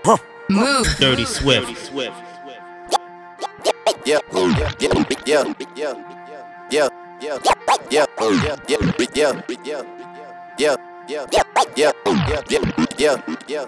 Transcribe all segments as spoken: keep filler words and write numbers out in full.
Huh. Move. Dirty Swift. Yeah, yeah, yeah, yeah, yeah, yeah, yeah, yeah, yeah, yeah, yeah, yeah, yeah, yeah, yeah, yeah.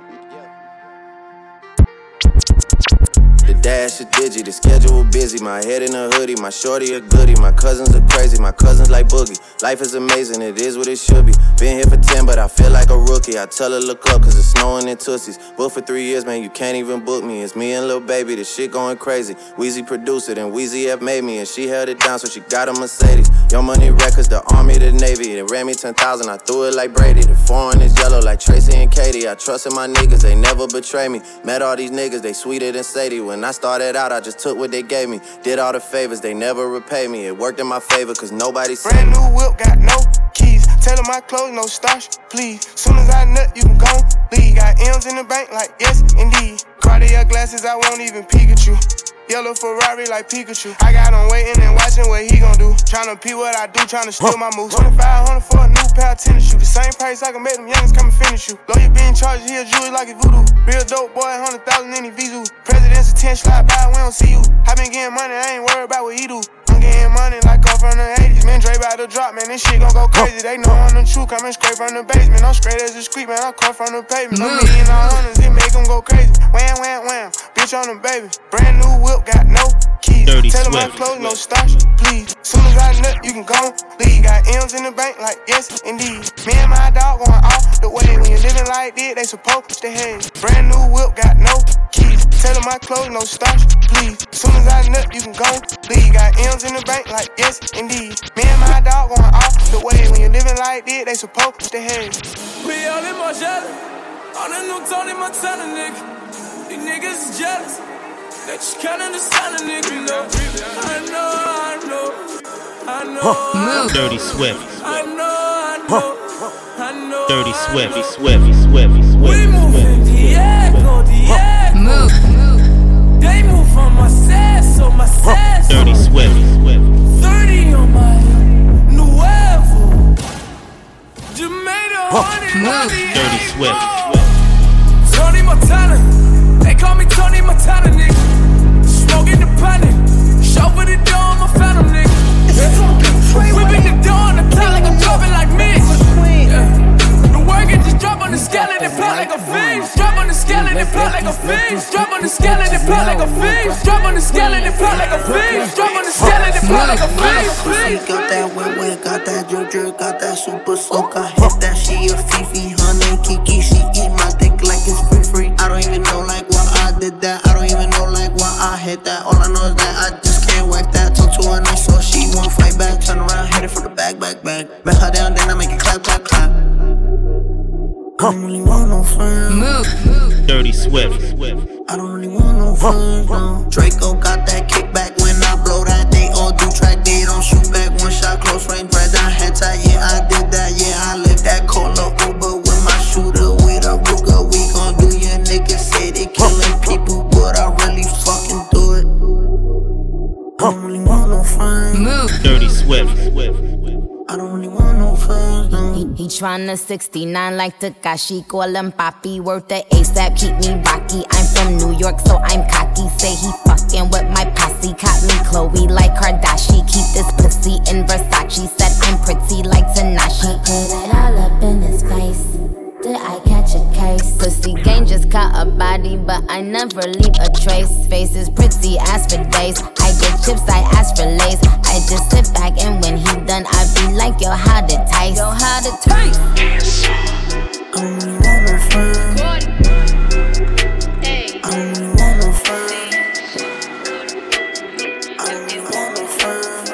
The dash is digi, the schedule busy. My head in a hoodie, my shorty a goodie. My cousins are crazy, my cousins like Boogie. Life is amazing, it is what it should be. Been here for ten, but I feel like a rookie. I tell her look up, cause it's snowing in Tootsies. Booked for three years, man, you can't even book me. It's me and Lil Baby, the shit going crazy. Weezy produced it, and Weezy F made me. And she held it down, so she got a Mercedes. Young Money Records, the Army, the Navy. They ran me ten thousand, I threw it like Brady. The foreign is yellow like Tracy and Katie. I trusted my niggas, they never betray me. Met all these niggas, they sweeter than Sadie. When I started out, I just took what they gave me. Did all the favors, they never repay me. It worked in my favor, cause nobody said brand new whip, got no keys. Tell them my clothes, no starch, please. Soon as I nut, you can go leave. Got M's in the bank, like yes, indeed. Cartier glasses, I won't even peek at you. Yellow Ferrari like Pikachu. I got him waiting and watching what he gon' do. Tryna pee what I do, tryna steal my moves. twenty-five hundred for a new pair of tennis shoes. The same price I can make them youngins come and finish you. Lawyer being charged, he a jewelry like it's voodoo. Real dope boy, one hundred thousand in his Vizu. President's attention, slide by, we don't see you. I been getting money, I ain't worried about what he do. I'm getting money like I'm from the eighties. Man, Dre about to drop, man, this shit gon' go crazy. They know I'm the truth, coming straight from the basement. I'm straight as a street, man, I come from the pavement. I'm million all hundreds, it make them go crazy. Wham, wham, wham, bitch on the baby. Brand new whip, got no keys. Dirty Tell them my clothes, no starch, please. Soon as I nut, you can go leave. Got M's in the bank, like yes, indeed. Me and my dog going off the way. When you living like this, they supposed to hate. Brand new whip, got no keys. Tell them my clothes, no starch, please. Soon as I nut, you can go leave. Got M's in the bank, like yes, indeed. Me and my dog going off the way. When you living like this, they supposed to hate. We all in my jelly. On a new Tony Montana, nigga. These niggas is jealous. They just can't understand a nigga, no. I know, I know, I know. Huh. Move. Dirty Swift. I know, I know, I know. Dirty Swift, Swift, Swift, Swift. We moving Diego, Diego. Move, move. They move on my sass, so my sass. Dirty Swift, Swift. thirty on my Nuevo. Jamaica, honey, move. Dirty Swift. Tony Montana. They call me Tony Montana, nigga. Smoking the panic. Chauffeur the door, I'm a phantom, nigga. Whipping the door on the top like I'm dropping like me. Yeah. The work it just drop on the scale and it plot like a fish. Drop on the scale and it plot like a fish. Drop on the scale and it plot like a fish. Drop on the scale and it plot like a fish. Drop on the scale and it plot like a fish. Got that wet wet, got that drip drip, got that super soak. I hit that, she a Fifi, honey Kiki. She eat my dick like it's free free. I don't even know like why I did that. I don't even know like why I hit that. All I know is that I just can't whack that. Talk to her nice so she won't fight back. Turn around, hit it for the back, back, back. Bet her down, then I make it clap, clap, clap. I don't really want no friends. Move. Dirty Swift. I don't really want no friends, no. Draco got that kickback when I blow that. They all do track, they don't shoot back. One shot, close range, right down head tie. Yeah, I did that, yeah, I lived that. Cola Uber with my shooter, with a Ruger. We gon' do your niggas say they killing people, but I really fucking do it. I don't really want no friends. Move. Dirty Swift. I don't really want no friends, no. He, he tryna sixty-nine like Takashi. Call him Papi, worth the ASAP, keep me rocky. I'm from New York, so I'm cocky. Say he fucking with my posse. Caught me Chloe like Kardashian. Keep this pussy in Versace. Said I'm pretty like Tanashi. Put it all up in his face. Did I catch a case? Pussy gang just caught a body, but I never leave a trace. Face is pretty as for days. I get chips, I ask for lace. I just sit back and when he done, I be like, yo, how to taste? Yo, how to taste? I don't really want no friends. I don't really want no friends. I don't really want no friends.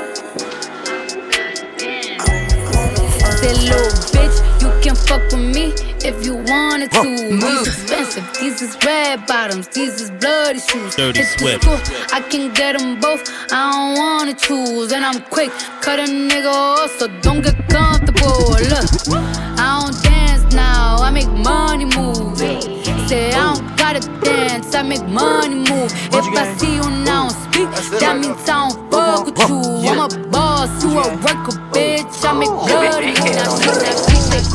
I don't really want no friends. Say, little bitch, you can fuck with me if you wanted to. These expensive, these is red bottoms, these is bloody shoes. Dirty Hit the Swift. school, I can get them both, I don't wanna choose. And I'm quick, cut a nigga off, so don't get comfortable. Look, I don't dance now, I make money move. Say I don't gotta dance, I make money move. If I see you now speak, that means I don't fuck with you. I'm a boss, you a worker, bitch, I make bloody move. Now she said,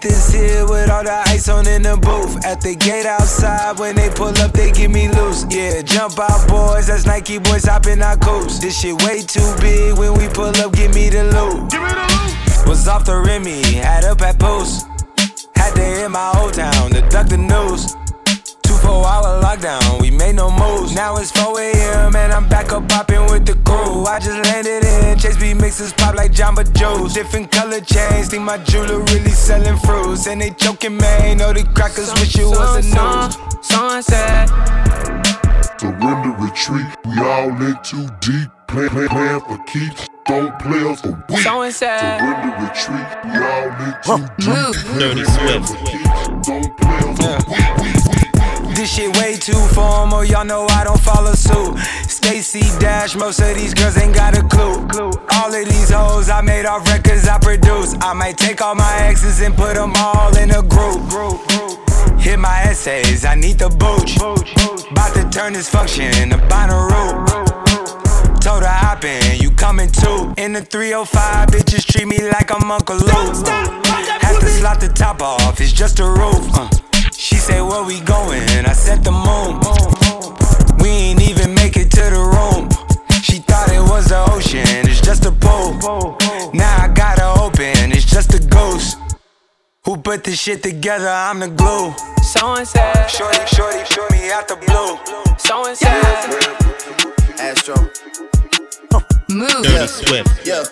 hit this here with all the ice on in the booth. At the gate outside, when they pull up, they give me loose. Yeah, jump out, boys, that's Nike boys hopping our coast. This shit way too big, when we pull up, give me the loot. Give me the loot. Was off the Remy, had up at post. Had to hit my old town to duck the news. Two four hour lockdown, we made no moves. Now it's four a.m. and I'm back up popping with the crew. I just landed in, Chase B mixes pop like Jamba Joe's. Different color chains, think my jeweler really selling fruits. And they joking, man, know the crackers wish it was a news. Sunset. Surrender, retreat, we all in too deep. Plan, plan, plan for keeps, don't play us for weeks. Surrender, retreat, we all in too deep. Dirty Swift. Don't play us for weeks. This shit way too formal, y'all know I don't follow suit. Stacy Dash, most of these girls ain't got a clue. All of these hoes I made off records I produce. I might take all my exes and put them all in a group. Hit my essays, I need the booch. About to turn this function into Bonnaroo. Told her hop in, you coming too. In the three oh five, bitches treat me like I'm Uncle Luke. Have to slot the top off, it's just a roof. uh. She said, where we going? I said the moon. We ain't even make it to the room. She thought it was the ocean, it's just a pool. Now I gotta open, it's just a ghost. Who put this shit together? I'm the glue. So and said, Shorty, shorty, shorty me out the blue. So and said, Astro. Move. Dirty Swift. Yeah.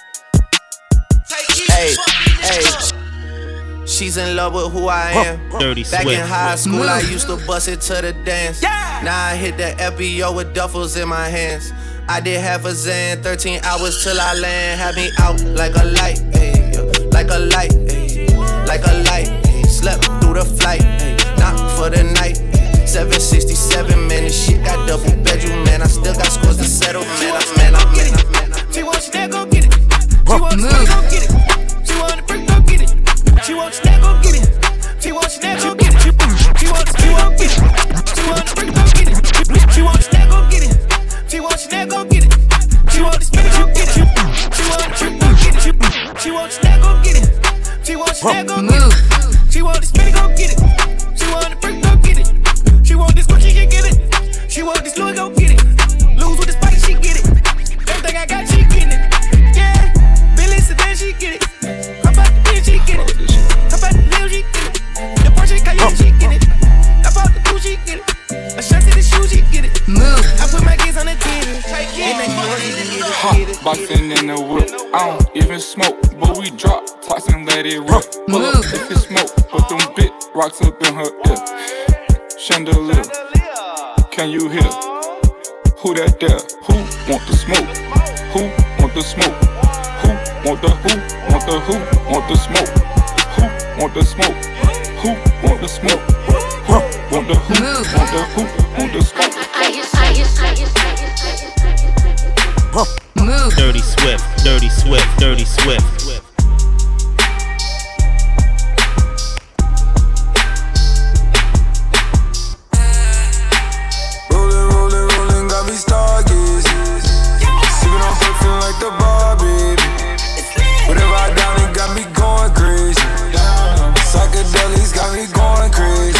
Hey, hey. She's in love with who I am. Dirty Back Swift. in high school, Move. I used to bust it to the dance. Yeah. Now I hit the F B O with duffels in my hands. I did half a Zan, thirteen hours till I land. Had me out like a light, ayy, like a light, ayy, like a light. Ayy. Slept through the flight, ayy, not for the night. seven sixty-seven, man, this shit got double bedroom, man. I still got scores to settle, man. I, man, I, man, I, man, I. She wants that, go get it. She wants that, go get it. She want the brick, go get it. She wants that, go get it. She wants that, go get it. She wants, she wants get it. She wants the brick, go get it. She wants that, go get it. She wants that, go get it. She wants the spinach, go get it. She wants the brick, go get it. She wants that, go get it. She wants that, go get it. She wants the spinach, go get it. She wants the brick, go get it. She want this Gucci, she get it. She want this Louis, go get it. Lose with the spice, she get it. Everything I got, she getting it. Yeah, Billy Sedan, she get it. How about the bitch, she get it. How about the Lil, she get it. The Porsche Cayenne, she get it. I bought the coupe, she get it. A shirt to the shoe, she get it. Move. I put my kids on the T V. And they know she get it. Huh, boxing in the whip. I don't even smoke, but we drop tops and let it rip. Pull up if it smoke, put them big rocks up in her ear. Chandelier, can you hear? Who that there? Who want the smoke? Who want the smoke? Who want the who? Want the who? Want the smoke? Who want the smoke? Who want the smoke? Who want the who? Want the who? Want the smoke? Move. Dirty Swift. Dirty Swift. Dirty Swift. Rollin', rollin', rollin', got me stargazing. Sippin' on perfume like the bar, baby. Whatever I down, it got me going crazy. Psychedelics got me going crazy.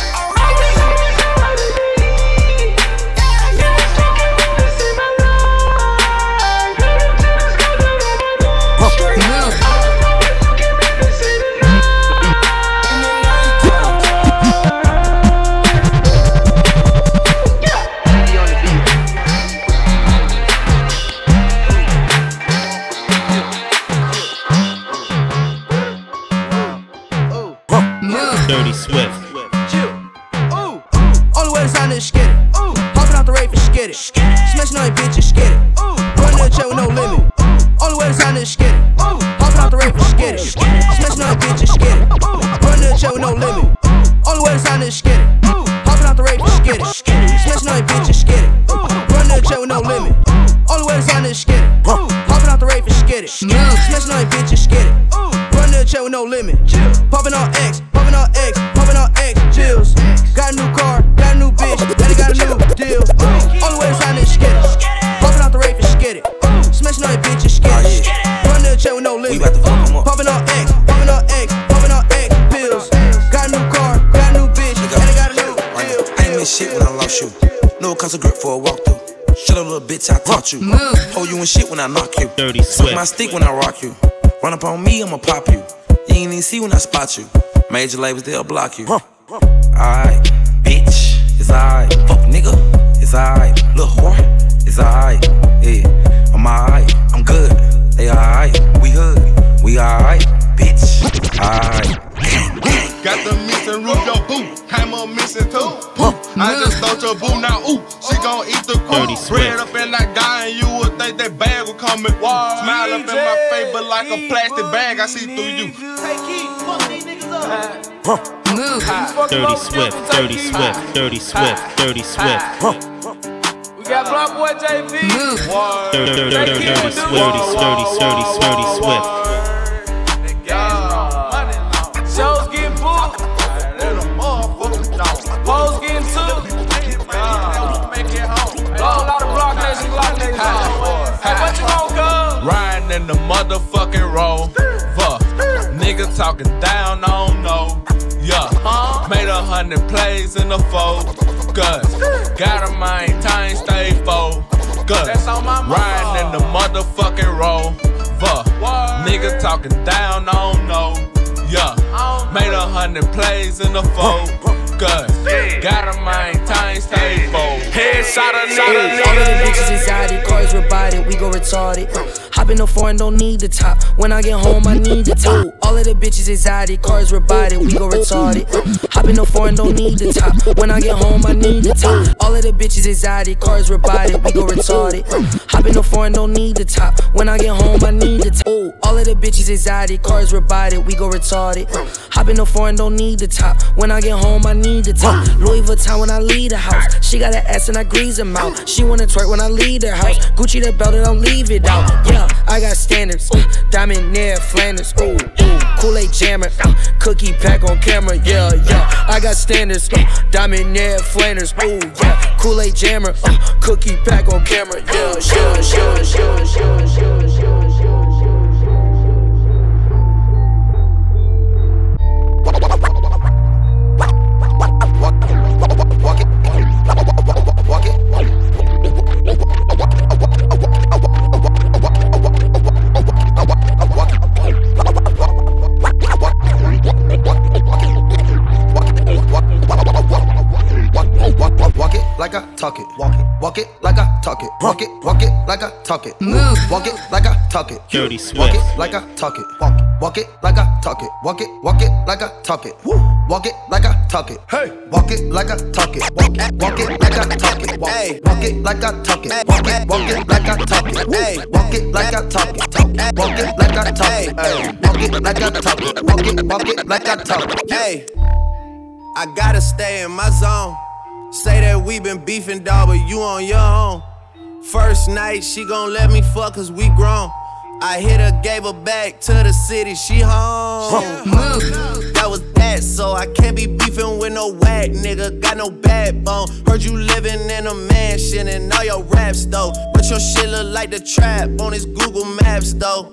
Dirty Swift. Ooh, only way to sign is skid it. Ooh, hopping out the rave and skid it. Smashing on your bitches, skid it. Ooh, running to the chair with no limit. Only way to sign is skid it. Ooh, hopping out the rave and skid it. Smashing on your bitches, skid it. Ooh, running to the chair with no limit. Only way to sign is skid it. Ooh, hopping out the rave and skid it. Smashing on your bitches, skid it. Ooh, running to the chair with no limit. Only way to sign is skid it. Ooh, hopping out the rave and skid it. Smashing on your bitches, skid it. Ooh, running to the chair with no limit. Popping on X. Popping on X, popping on X, chills. Got a new car, got a new bitch, and it got a new deal. Only way to sign is skid it. Popping out the rave and skid it. Smashing on your bitches, skid it. Running to the chair with no limit. Popping on X, popping on X, popping on X, cost a grip for a walkthrough. Shut up, little bitch, I taught you. Hold you in shit when I knock you. Dirty Suck Swift. my stick when I rock you. Run up on me, I'ma pop you. You ain't even see when I spot you. Major labels, they'll block you. Alright, bitch, it's alright. Fuck nigga, it's alright. Little whore, it's alright. Yeah, I'm alright, I'm good. They alright, we hood, we alright, bitch, alright. Got the missing root, your boo. Came up missing too. Poof. I just thought your boo now. Ooh, she gon' eat the crew. Bread up in that guy, and you would think that bag would come in. Smile up in my face, but like a plastic bag, I see through you. Take heat, fuck these niggas up. Move. Dirty Swift, Dirty Swift, Dirty Swift, Dirty Swift. We got Block Boy J V. Move. Dirty, dirty, dirty, Swift, Dirty, Dirty, Dirty Swift. Shows getting booked. Hoes getting took. All out of Block Nation, Block Nation. Hey, what you want, cuz? Riding in the motherfucking Rover. Nigga talking down, I don't know. Yeah, made a hundred plays in the focus. Gotta maintain, stay focused. Riding in the motherfucking Rover. Nigga talking down, I don't know. Yeah, made a hundred plays in the focus. Gotta maintain, stay focused. Headshot a nigga. All of the bitches anxiety, cars rebodied, we go retarded. Hop in the foreign, don't need the top. When I get home, I need the top. All of the bitches anxiety, cars rebodied, we go retarded. Hop in the foreign, don't need the top. When I get home, I need the top. All of the bitches anxiety, cars rebodied, we go retarded. Hop in the foreign, don't need the top. When I get home, I need the top. All of the bitches anxiety, cars rebodied, we go retarded. Hop in the foreign, don't need the top. When I get home, I need the top. Louis Vuitton when I leave the house. She got an ass and I grease her mouth. She wanna twerk when I leave the house. Gucci the belt and don't leave it out. Yeah, I got standards. Uh, Diamond Nair Flanders. Ooh, ooh. Kool-Aid jammer. Uh, cookie pack on camera. Yeah, yeah. I got standards. Uh, Diamond Nair Flanders. Ooh, yeah. Kool-Aid jammer. Uh, cookie pack on camera. Yeah, yeah, yeah, yeah, yeah, yeah, yeah. Like I talk it, walk it, walk it like I talk it, walk it, walk it like I talk it, move, walk it like I talk it, Dirty walk Swift. it like I talk it, walk it, walk it like I talk it, walk it, walk it like I talk it, woo, walk it like I talk it, hey, walk it like I talk it, walk it, walk it like I talk it, hey, walk it like I talk it, walk it, walk it like I talk it, hey, walk it like I talk it, talk it, walk it like I talk it, hey, walk it like I talk it, walk it, walk it like I talk it, hey, I gotta stay in my zone. Say that we been beefing, dawg, but you on your own. First night, she gon' let me fuck cause we grown. I hit her, gave her back to the city, she home. That was that, so I can't be beefing with no whack nigga. Got no backbone. Heard you living in a mansion and all your raps though. But your shit look like the trap on his Google Maps though.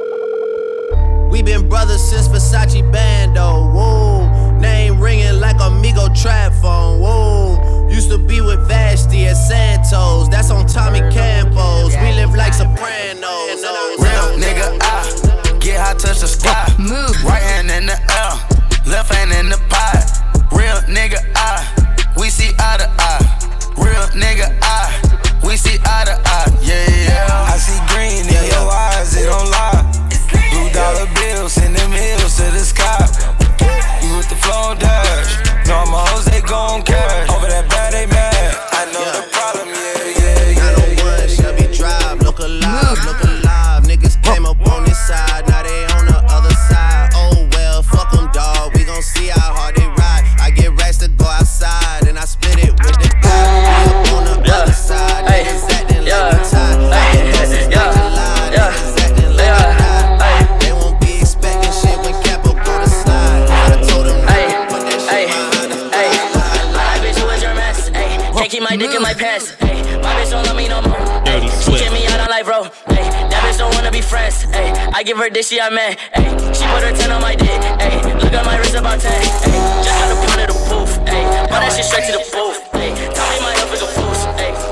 We been brothers since Versace Bando, whoa. Name ringing like Amigo trap phone, whoa. Used to be with Vashti at Santos, that's on Tommy Campos. We live like Sopranos. Real nigga, I get high, touch the sky. Move. Right hand in the air, left hand in the pot. Real nigga, I, we see eye to eye. Real nigga, I, we see eye to eye. Yeah, yeah. I see green in your eyes, it don't lie. Blue dollar bills, send them hills to the sky. You with the flow dash, no my hoes, they gon' cash. Over that bad, they mad. I know yeah. the problem, yeah, yeah, yeah. nine oh one Shelby Drive, look alive, look alive. Niggas came up on this side, now they on the other side. Oh well, fuck them, dawg, we gon' see how hard they ride. I get racks to go outside, and I split it with the guy. We up on the yeah. other side, hey. Niggas acting yeah. like the time. Hey. Niggas yeah. like lie, yeah. niggas acting like yeah. the lie. They won't be expecting shit when Capo go to slide. I told them hey. Put that shit behind us. Hey. My bitch, who is your mess? Hey. Can't keep my dick in my pants. Hey. My bitch don't love me no more. Hey. She kick me out on life, bro. Hey. That bitch don't wanna be friends. Hey. I give her dick, she I man. Hey. She put her ten on my dick. Hey. Look at my wrist about ten. Hey. Just got a point of the booth. Hey. Brought that shit straight to the booth. Hey. Tell me my health is a boost. Hey.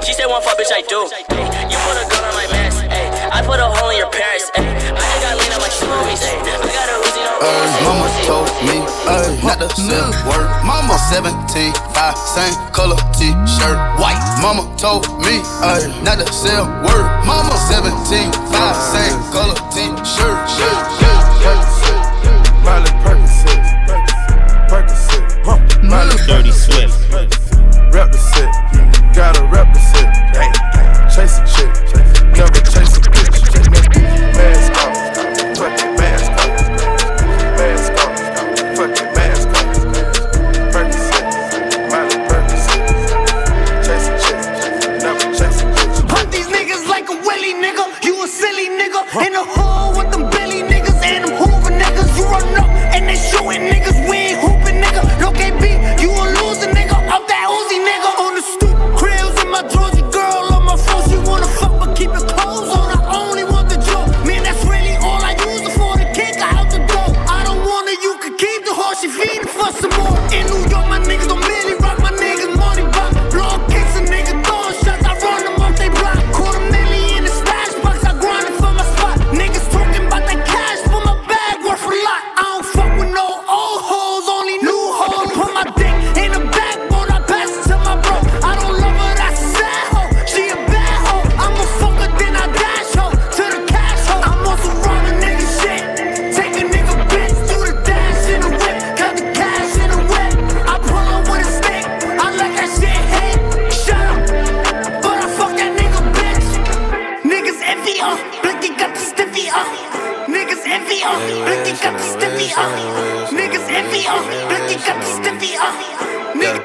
She said one fuck, bitch, I do. Ay, you put a gun on my mask. Ay, I put a hole in your parents. Ay, I just got lean on my smoothies. Ay, I got a Uzi, no Ay, mama told me, ay, not to sell word. Mama seventeen, five, same color t-shirt, white. Mama told me, ay, not to sell word. Mama seventeen, five, same color t-shirt. Percocet, Miley Percocet, Percocet, Miley Dirty Swift. Rep the set, gotta rep the set. Chase a chick, never chase a bitch. Mask off, fuck your mask off. Mask off, fuck your mask off. Percocet, Miley Percocet. Chase a chick, never chase a bitch. Hunt these niggas like a willy nigga. You a silly nigga. In the hole with them Billy niggas and them Hoover niggas. You run up and they shooting niggas. We ain't hooping nigga. No K B, you a loser nigga. Off that Uzi nigga. On the stoop, cribs in my drawers. Your girl on my phone. She wanna fuck but keep her clothes on. I only want the joke. Man, that's really all I use it for. The kick her out the door. I don't want her, you can keep the horse. She feeding for some more. In New York, my niggas don't really rock. My niggas money block. Blow kicks a nigga throwing shots. I run them off they block. Quarter million in the stash box. I grind it for my spot. Niggas talking about that cash for my bag worth a lot. I don't fuck with no old hoes, only new hoes. Put my dick in the backbone. I pass it to my bro. I don't love her, that's a sad hoe. She a bad hoe. I'm a fucker, then I dash hoe to the cash hoe. I'm on some running nigga shit. Take a nigga bitch, do the dash in the whip. Cut the cash in the whip. I pull up with a stick. I let that shit hit. Shut up, but I fuck that nigga bitch. Niggas envy up, Blicky got the stiffy up. Niggas envy up, Blicky got the stiffy up. Niggas envy up, Blicky got the stiffy up. Niggas,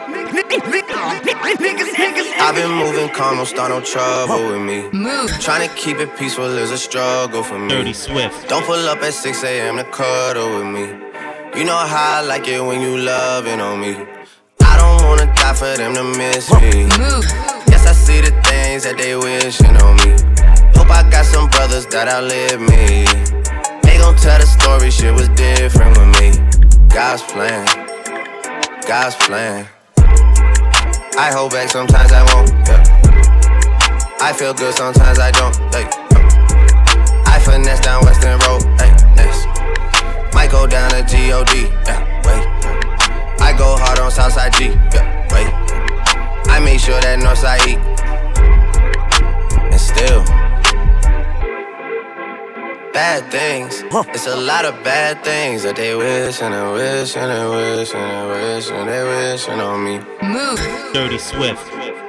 niggas, niggas. I've been moving calm, don't start no trouble with me. Trying to keep it peaceful is a struggle for me. Dirty Swift. Don't pull up at six a.m. to cuddle with me. You know how I like it when you loving on me. I don't wanna die for them to miss me. Yes, I see the things that they wishing on me. Hope I got some brothers that outlive me. They gon' tell the story, shit was different with me. God's plan, God's plan. I hold back, sometimes I won't, yeah. I feel good, sometimes I don't, hey. I finesse down Western Road, hey, next. Might go down to G O D, yeah, wait. I go hard on Southside G, yeah, wait. I make sure that Northside eat. And still bad things, it's a lot of bad things that they wish and they wish and they wish and they wish and they wishing on me. Move. Dirty Swift.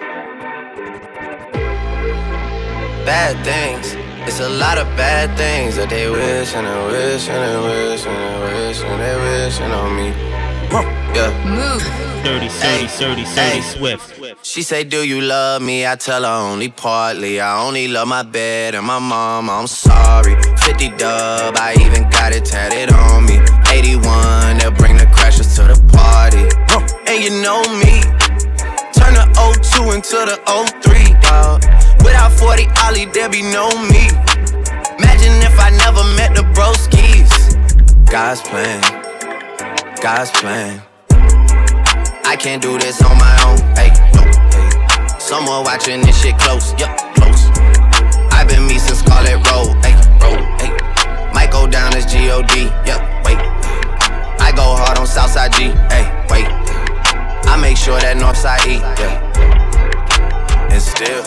Bad things, it's a lot of bad things that they wish and they wish and they wish and they wish and they wishing on me. Yeah. Move. Dirty, dirty, dirty, dirty Swift. She say, do you love me? I tell her only partly. I only love my bed and my mom, I'm sorry. fifty dub, I even got it tatted on me. eighty-one, they'll bring the crashers to the party. And you know me, turn the oh two into the oh three, dawg. Without forty Ollie, there be no me. Imagine if I never met the broskies. God's plan, God's plan. I can't do this on my own, hey, no, hey. Someone watching this shit close, yup, close. I've been me since Scarlet Road, hey, road, hey. Might go down as G O D, yup, wait. I go hard on Southside G, hey, wait. I make sure that Northside E, yeah. And still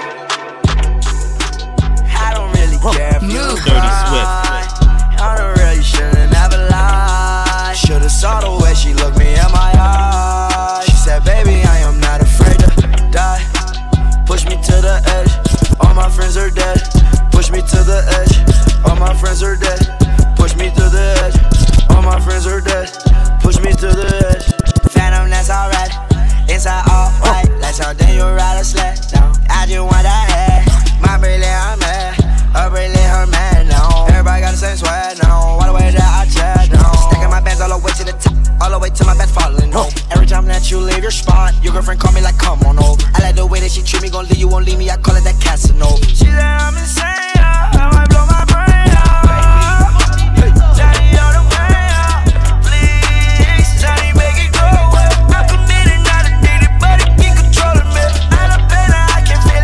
I don't really care if you Dirty Swift. I don't really should've never lied. Should've saw the way she looked me in my eyes. She said, baby, I am not afraid to die. Push me to the edge, all my friends are dead. Push me to the edge, all my friends are dead. Push me to the edge, all my friends are dead. Push me to the edge. Phantom, that's alright. Inside all white, like something you ride a sled down. I just want that head, my brilliant, I'm mad. Her brilliant, her man now. Everybody got the same swag now. All the way that I chat now. Stacking my bands all the way to the top, all the way to my bed falling over. Every time that you leave your spot, your girlfriend call me like, come on over. I like the way that she treat me, gon' leave you, won't leave me. I call it that Casanova. She said I'm insane, yeah. I might blow my brain out. Johnny on the way out. Please, Johnny, make it go away. I'm committed, not addicted, but it keep controlling me. I love better, I can feel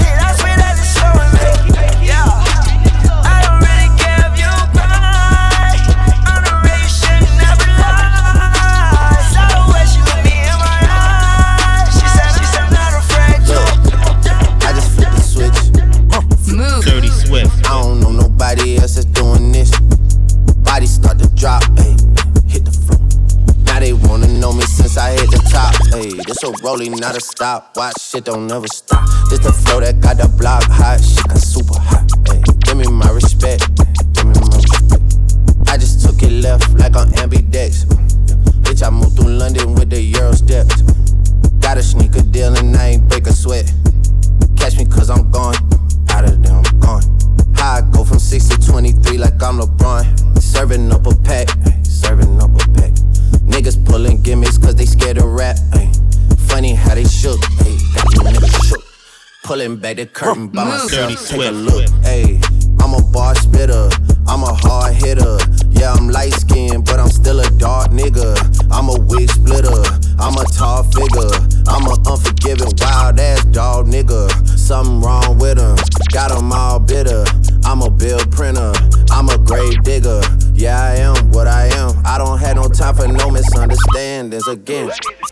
Hey, this a rolling, not a stop. Watch shit don't never stop. This the flow that got the block hot. Shit got super hot. Hey, give me my respect. Give me my respect. I just took it left like on ambidex. Bitch, I moved through London with the Euro steps. Got a sneaker deal and I ain't break a sweat. Catch me cause I'm gone. Out of there, I'm gone. How I go from six to twenty-three like I'm LeBron. Serving up a pack. Serving up a pack. Niggas pulling gimmicks cause they scared to rap. Ay. Funny how they shook. Ay. Got you niggas shook. Pulling back the curtain by myself. Take a look. Ay. I'm a bar spitter. I'm a hard hitter. Yeah, I'm light skinned, but I'm still a dark nigga. I'm a wig splitter. I'm a tall figure. I'm a unforgiving, wild ass dog nigga. Something wrong with him. Got him all bitter. I'm a bill printer. I'm a grave digger. Yeah, I am what I am. I don't have no time for no misunderstandings again.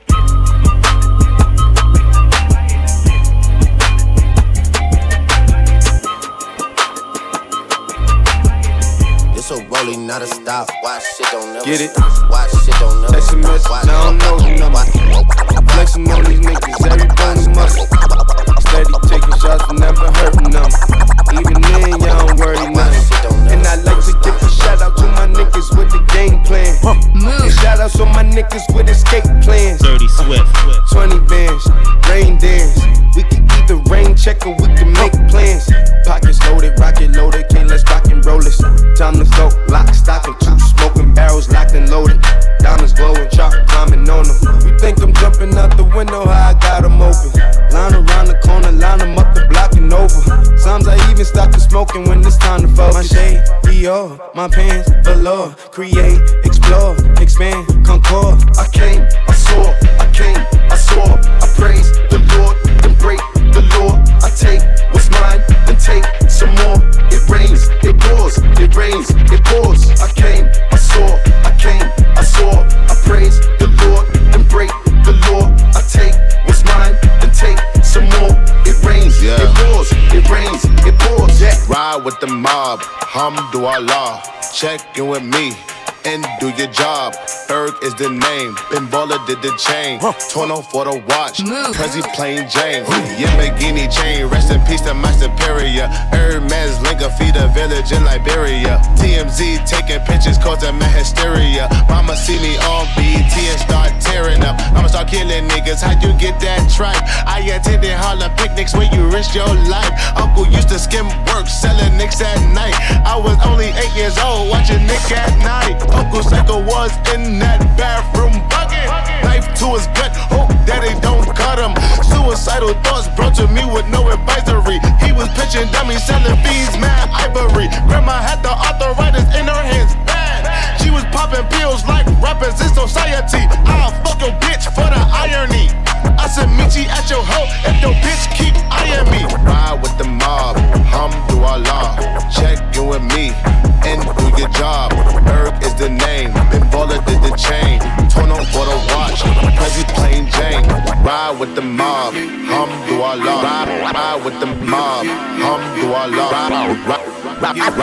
It's a rolling, not a stop. Watch shit don't never Get it? stop. Watch shit don't never Text a message, stop. I don't know the number. Flexing on these niggas, every bone muscle. Steady taking shots, but never hurting them. Even then, y'all don't worry nothing. And I like to give a shout out to my niggas with the game plan. And shout outs to my niggas with escape plans. Dirty Swift. twenty bands, rain dance. We can either rain check or we can make plans. Pockets loaded, rocket loaded, can't let's rock and roll this. Time to go, lock, stock, and two smoking barrels locked and loaded. Diamonds glowing, chop climbing on them. You think I'm jumping out the window, how I got them open. Line around the corner, line them up the block and over. Sometimes I even stop the smoking when it's time to focus. My shade, Dior, my pants, velour. Create, explore, expand, concord. I came, I saw, I came, I saw. I praise the Lord, then break the law. I take what's mine, then take some more. It rains, it pours, it rains, it pours. I came, I saw, I came, I saw. I praise the Lord, then break the law. I take what's mine, then take some more. It rains, yeah. It pours, it rains, it pours. Yeah. Ride with the mob, Hamdulillah. Check in with me and do your job. Berg is the name, Ben Baller did the chain. Torno for the watch, Prezi plain Jane. Yamagini chain, rest in peace to my superior. Hermes Linka feed a village in Liberia. T M Z taking pictures causing my hysteria. Mama see me on B E T and start tearing up. I'ma start killing niggas, how you get that tripe? I attended Harlem picnics where you risk your life. Uncle used to skim work, selling nicks at night. I was only eight years old, watching Nick at night. Uncle Psycho was in that bathroom bucket. Knife to his gut, hope that they don't cut him. Suicidal thoughts brought to me with no advisory. He was pitching dummies, selling bees, mad ivory. Grandma had the arthritis in her hands, bad. She was popping pills like rappers in society. I'll fuck your bitch for the irony. I said meet you at your hoe if your bitch keep eyeing me. Ride with the mob, Hamdulillah. Check in with me and do your job. Berg is the name, Ben Baller did the chain. Torno for the watch, Prezi plain Jane. Ride with the mob, Hamdulillah. Ride, ride with the mob, Hamdulillah. Ride, ride,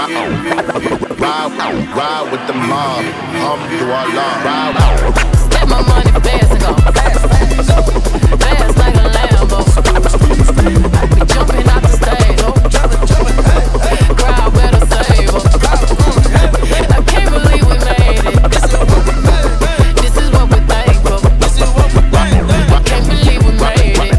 ride, ride, ride with the mob, Hamdulillah. Ride. Let my money fast and go fast, fast, fast like a Lambo. I be jumping out the stage, oh, crowd better save us. I can't believe we made it. This is what we thankful. I can't believe we made it.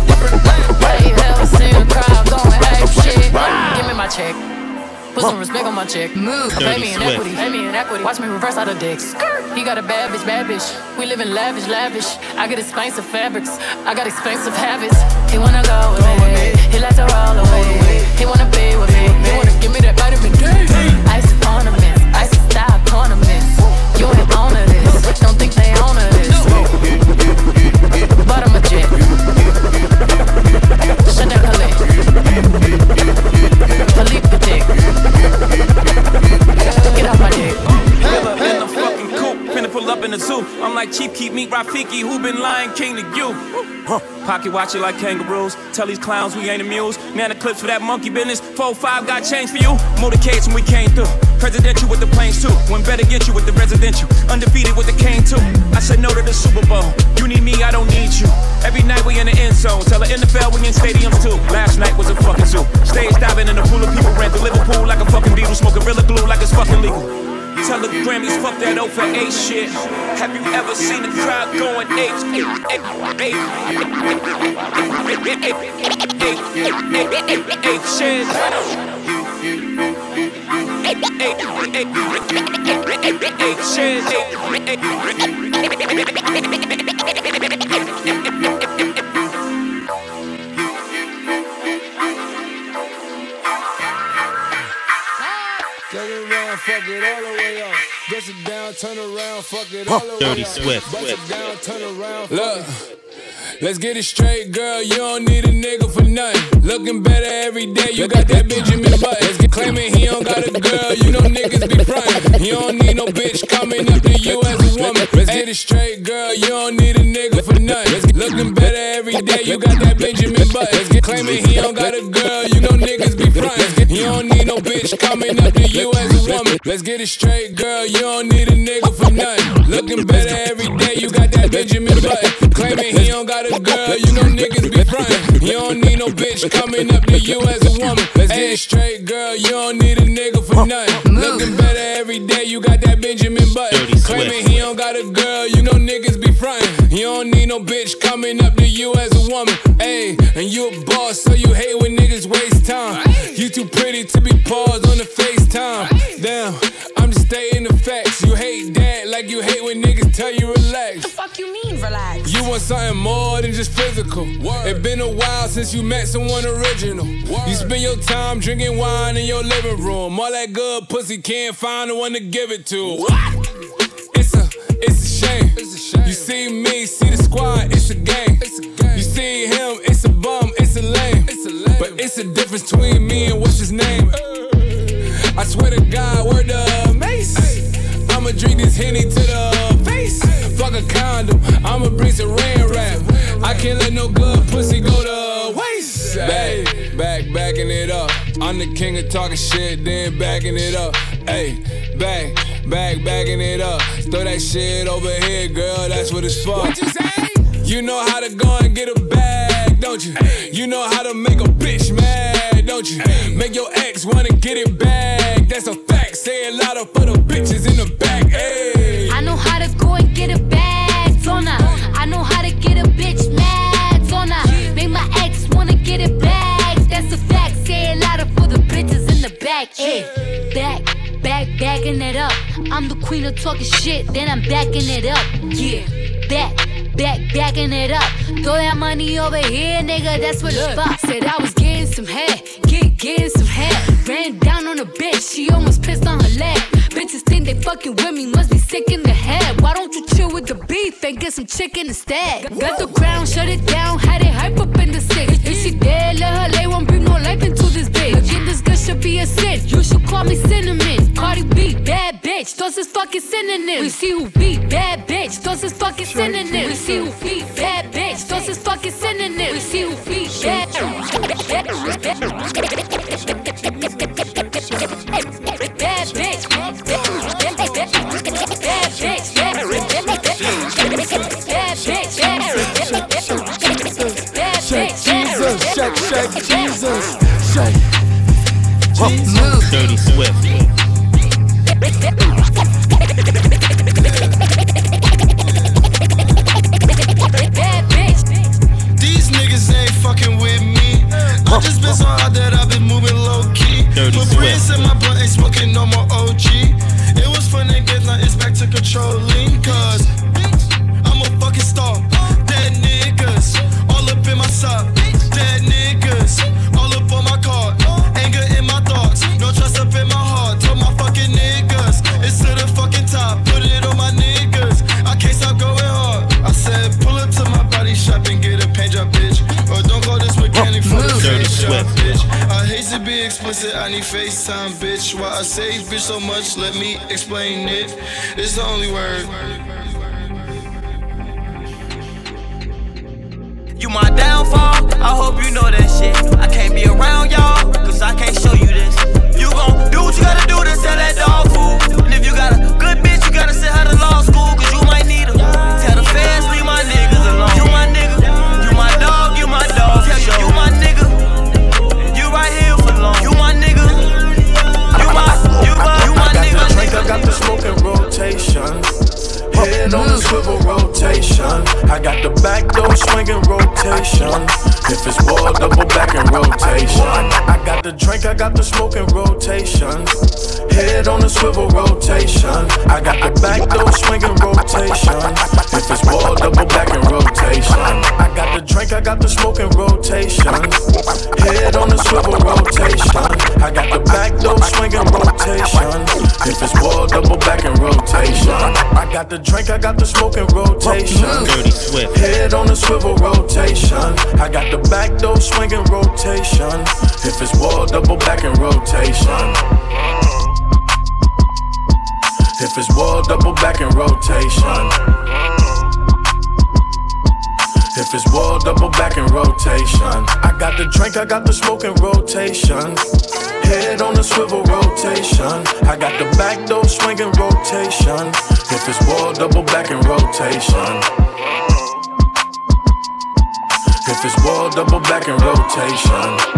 I ain't never seen a crowd going ape shit. Give me my check. Put some respect on my check. Move. Pay me in equity. Pay me in equity. Watch me reverse out of dicks. He got a bad bitch, bad bitch. We live in lavish, lavish. I get expensive fabrics. I got expensive habits. He wanna go with me. He like to roll away. He wanna be with me. He wanna give me that vitamin D. Ice ornaments. Ice style ornaments. You ain't on to this. Don't think they own to this. But I'm a jet. Shut that collet. Philippe dick. Get off my dick. Miller in the fucking coupe, finna pull up in the zoo. I'm like Chief Keep Meet Rafiki, who been Lion King to you? Pocket watch it like kangaroos. Tell these clowns we ain't amused. Man, the clips for that monkey business. four five got change for you. Motorcades when we came through. Presidential with the planes too. When better get you with the residential. Undefeated with the cane too. I said no to the Super Bowl. You need me, I don't need you. Every night we in the end zone. Tell the N F L we in stadiums too. Last night was a fucking zoo. Stage diving in a pool of people. Ran through Liverpool like a fucking Beatle. Smoking Gorilla Glue like it's fucking legal. Tell the Grammys, fuck that O for eight shit. Have you ever seen a crowd going eight? Eight, eight, eight, eight shit. Eight, eight, eight shit. Turn around, fuck it all the way up. Bust it down, turn around, fuck it all the way up. Dirty Swift. Bust it down, turn around. Look, let's get it straight, girl. You don't need a nigga for nothing. Looking better every day. You got that Benjamin Button. Let's get claiming he don't got a girl. You know niggas be frontin'. You don't need no bitch coming up to you as a woman. Let's get it straight, girl. You don't need a nigga for nothing. Let's get looking better every day. You got that Benjamin Button. Let's get claiming he don't got a girl. You know niggas be frontin'. You don't need no bitch coming up to you as a woman. Let's get it straight, girl. You don't need a nigga for nothing. Looking better every day. You got that Benjamin Button. Claiming he don't got a girl. You know niggas be frontin'. You don't need no bitch coming up to you as a woman. Let's get it straight, girl. You don't need a nigga for nothing. Looking better every day. You got that Benjamin Button. Claiming he don't got a girl. You know niggas be frontin'. You don't need no bitch coming up to you as a woman. Ayy, and you a boss, so you hate when niggas waste time. You too pretty to be paused on the FaceTime. Damn, I'm just stating the facts. You hate that like you hate when niggas tell you relax. The fuck you mean relax? You want something more than just physical. Word. It been a while since you met someone original. Word. You spend your time drinking wine in your living room. All that good pussy can't find the one to give it to. What? It's a, it's a shame. It's a shame. You see me, see the squad, it's a game. It's a game. You see him, it's a bum, it's a lame. It's a lame. But it's a difference between me and what's his name. I swear to God, word to Mace. I'ma drink this Henny to the face. Fuck a condom, I'ma bring some rain rap. I can't let no good pussy go to waste. Back, back, backing it up. I'm the king of talking shit, then backing it up. Ayy, back, back, backing it up. Throw that shit over here, girl, that's what it's for. What you say? You know how to go and get a bag, don't you? You know how to make a bitch mad, don't you? Make your ex wanna get it back, that's a fact. Say it louder for the bitches in the back, ayy. I know how to go and get a bag, don't I? I know how to get a bitch mad, don't I? Make my ex wanna get it back, that's a fact. Say it louder for the bitches in the back, ayy. Back, back, backing it up. I'm the queen of talking shit, then I'm backing it up, yeah. Back, back, backing it up. Throw that money over here, nigga, that's what it's for. Said I was getting some head, get, getting some head. Ran down on a bitch, she almost pissed on her leg. Bitches think they fucking with me, must be sick in the head. Why don't you chill with the beef and get some chicken instead? Got the crown, shut it down, had it hype up in the six. If she dead, let her lay, won't bring no life into this bitch. Again, this girl should be a sin, you should call me Cinnamon. Cardi B, bad bitch, those is fucking synonyms. We see who beat, bad bitch, those is fucking synonyms. We see who beat, bad bitch, those is fucking synonyms. We see who beat, bad bitch. Bad bitch, bad bitch, bad bitch, bad bitch, shake Jesus, shake, shake Jesus, shake. Jesus. Dirty Swift. These niggas ain't fucking with me. I just been so hot that I've been moving low key. Dirty Put brains in my blunt, ain't smoking no more O G. It was fun to get, now it's back to controlling. Cause I'm a fucking star. Dead niggas all up in my sock. Dead niggas all up on my card. Anger in my thoughts, no trust up in my heart. Told my fucking niggas, it's to the fucking top. Put it on my niggas, I can't stop going hard. I said pull up to my body shop and get a paint job, bitch. Or don't call this mechanic for the face shop, bitch. I hate to be explicit, I need FaceTime, bitch. Why I say bitch so much, let me explain it. It's the only word. You my downfall, I hope you know that shit. I can't be around y'all, cause I can't show you this. You You gon' do what you gotta do to sell that dog food. And if you got a good bitch, you gotta send her to law school, cause you might need her. Tell the feds, leave my niggas alone. You my nigga, you my dog, you my dog. Tell you, you my nigga, and you right here for long. You my nigga, you my, you my, you my nigga. I got the drink, I got the smoking rotation. Head on the swivel rotation. I got the back door swinging rotation. If it's ball, double back and rotation. I got the drink, I got the smoking rotation. Head on the swivel rotation. I got the back door swinging rotation. If it's ball, double back and rotation. I got the drink, I got the smoking rotation. Head on the swivel rotation. I got the back door swinging rotation. If it's ball, double back and rotation. I got the drink, I got the smoking rotation. Dirty Swift. Head on the swivel rotation. I got the back door swinging rotation. If it's wall, double back and rotation. If it's wall, double back and rotation. If it's wall, double back and rotation. I got the drink, I got the smoking rotation. Head on the swivel rotation. I got the back door swinging rotation. If it's wall, double back and rotation. If it's wall, double back and rotation.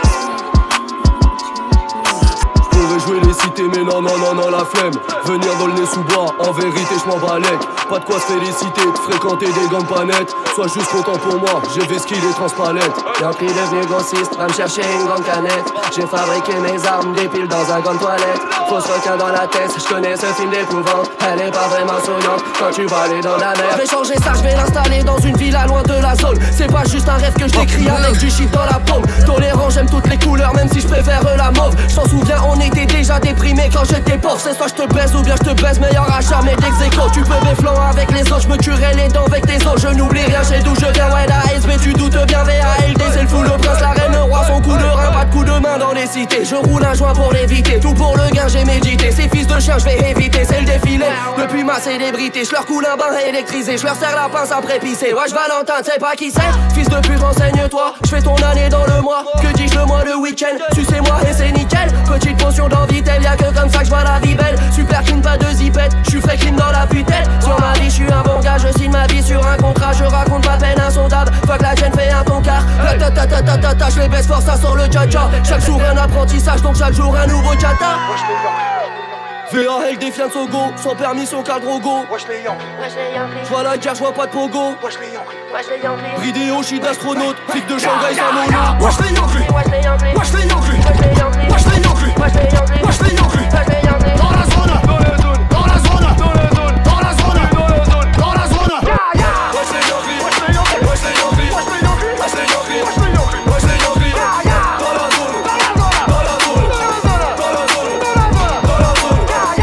Pourrais jouer les cités mais non non non non la flemme. Venir dans le nez sous bois, en vérité je m'en balèque. Pas de quoi se féliciter, de fréquenter des gommes pas nettes. Sois juste content pour moi, j'ai vesquille les transpalettes. Yankee devenu grossiste, va me chercher une grande canette. J'ai fabriqué mes armes, des piles dans un grande toilette. Fausse requin dans la tête, je connais ce film d'épouvante. Elle est pas vraiment souriante quand tu vas aller dans la mer. Je vais changer ça, je vais l'installer dans une villa loin de la zone. C'est pas juste un rêve que je décris avec du shit dans la paume. Tolérant, j'aime toutes les couleurs, même si je préfère la mauve. Je t'en souviens, on était déjà déprimé quand j'étais pauvre. C'est soit je te baise ou bien je te baise, meilleur achat mais d'ex-écho. Tu peux mes flancs avec les autres, je me tuerai les dents avec tes os. Je n'oublie rien, j'ai d'où je viens, ouais la S B tu doutes bien. V A L D c'est le fou, le prince, la reine, le roi, son coup de rein. Pas de coup de main dans les cités, je roule un joint pour l'éviter. Tout pour le gain, j'ai médité, ces fils de chien je vais éviter. C'est le défilé, depuis ma célébrité. Je leur coule un bain électrisé, je leur serre la pince après pisser. Wesh Valentin, tu sais pas qui c'est. Fils de pute, renseigne-toi, je fais ton année dans le mois. Que dis-je le mois, le week-end, sucez-moi et c'est nickel. Petite potion d'envie-telle, y'a que comme ça que je vois la vie belle. Super clean, pas de zipette, je suis frais clean dans la putelle. Sur ma vie, je suis un bon gars, je signe ma vie sur un contrat. Je raconte pas peine insondable, fuck la chaîne fait un ton car. Ta ta ta ta ta ta, je les baisse fort, ça sort le tcha-tcha. Chaque jour un apprentissage, donc chaque jour un nouveau tchata. V A L défiant de Sogo, sans permis, son cadre au go. J'vois la guerre, j'vois pas de pogo. Bridéo, j'suis d'astronaute, flic de Shanghai sans mono. Wesh les Yankees, wesh les Yankees, wesh les Yankees, wesh les Yankees. Dans la zone, dans la zone, dans la zone, dans la zone, dans la zone, dans la zone. Wesh les Yankees, wesh les Yankees, wesh les Yankees, wesh les Yankees, wesh les Yankees, wesh les Yankees, wesh les Yankees. Dans la zone, dans la zone, dans la zone, dans la zone, dans la zone.